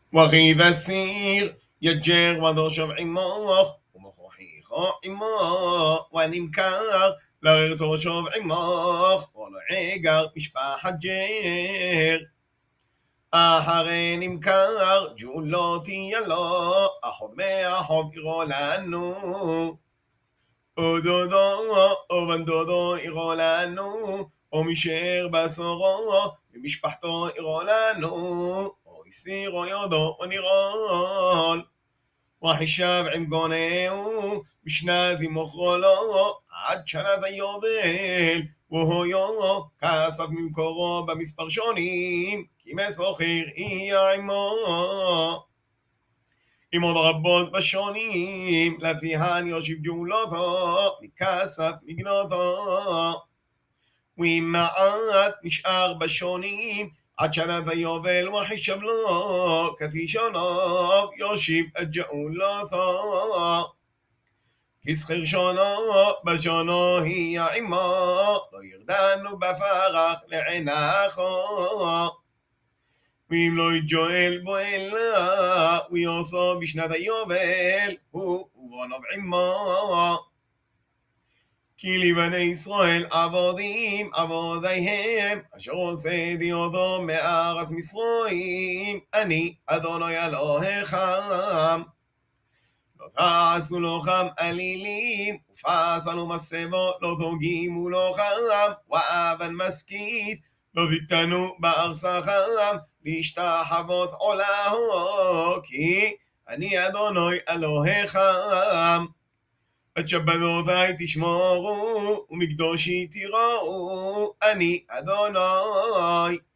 وغيذ السير يجر وضشب عماخ ومخوحيخ عماخ ونمكر لغيرتو شوف عماخ ولعيقر משפחת ג'ר אחרי נמכר ג'ולו תהיה לו אחות מאחות יראו לנו או דודו או בן דודו יראו לנו או משאר בסורו ומשפחתו יראו לנו או הסירו יודו ונירול וחישב עם גונהו בשנת ומוכרו לו עד שנת היובל והויו כסף ממקורו במספר שונים כי מסוחר יהיה עמו עם עוד רבות בשונים לפיהן יושיב גאולותו מכסף מגנותו ואם מעט נשאר בשונים עד שנת היובל וחישב לו כפי שונו יושיב את גאולותו כסחר שונו בשונו יהיה עמו לא ירדנו בפרח לעינחו ואם לא יג'ואל בו אלא ויוסו בשנת היובל הוא ובונו עמו כי לבני ישראל עבודים עבודיהם אשר עושה דיודו מארץ מצרים אני אדוני אלוהיכם לא תעשו לו חם עלילים ופסלו מסבו לא תוגימו לו חם ואבן משכית לא תיתנו בארצכם להשתחוות עולהו כי אני אדוני אלוהיכם את שבתותי תשמורו ומקדושי תיראו אני אדוני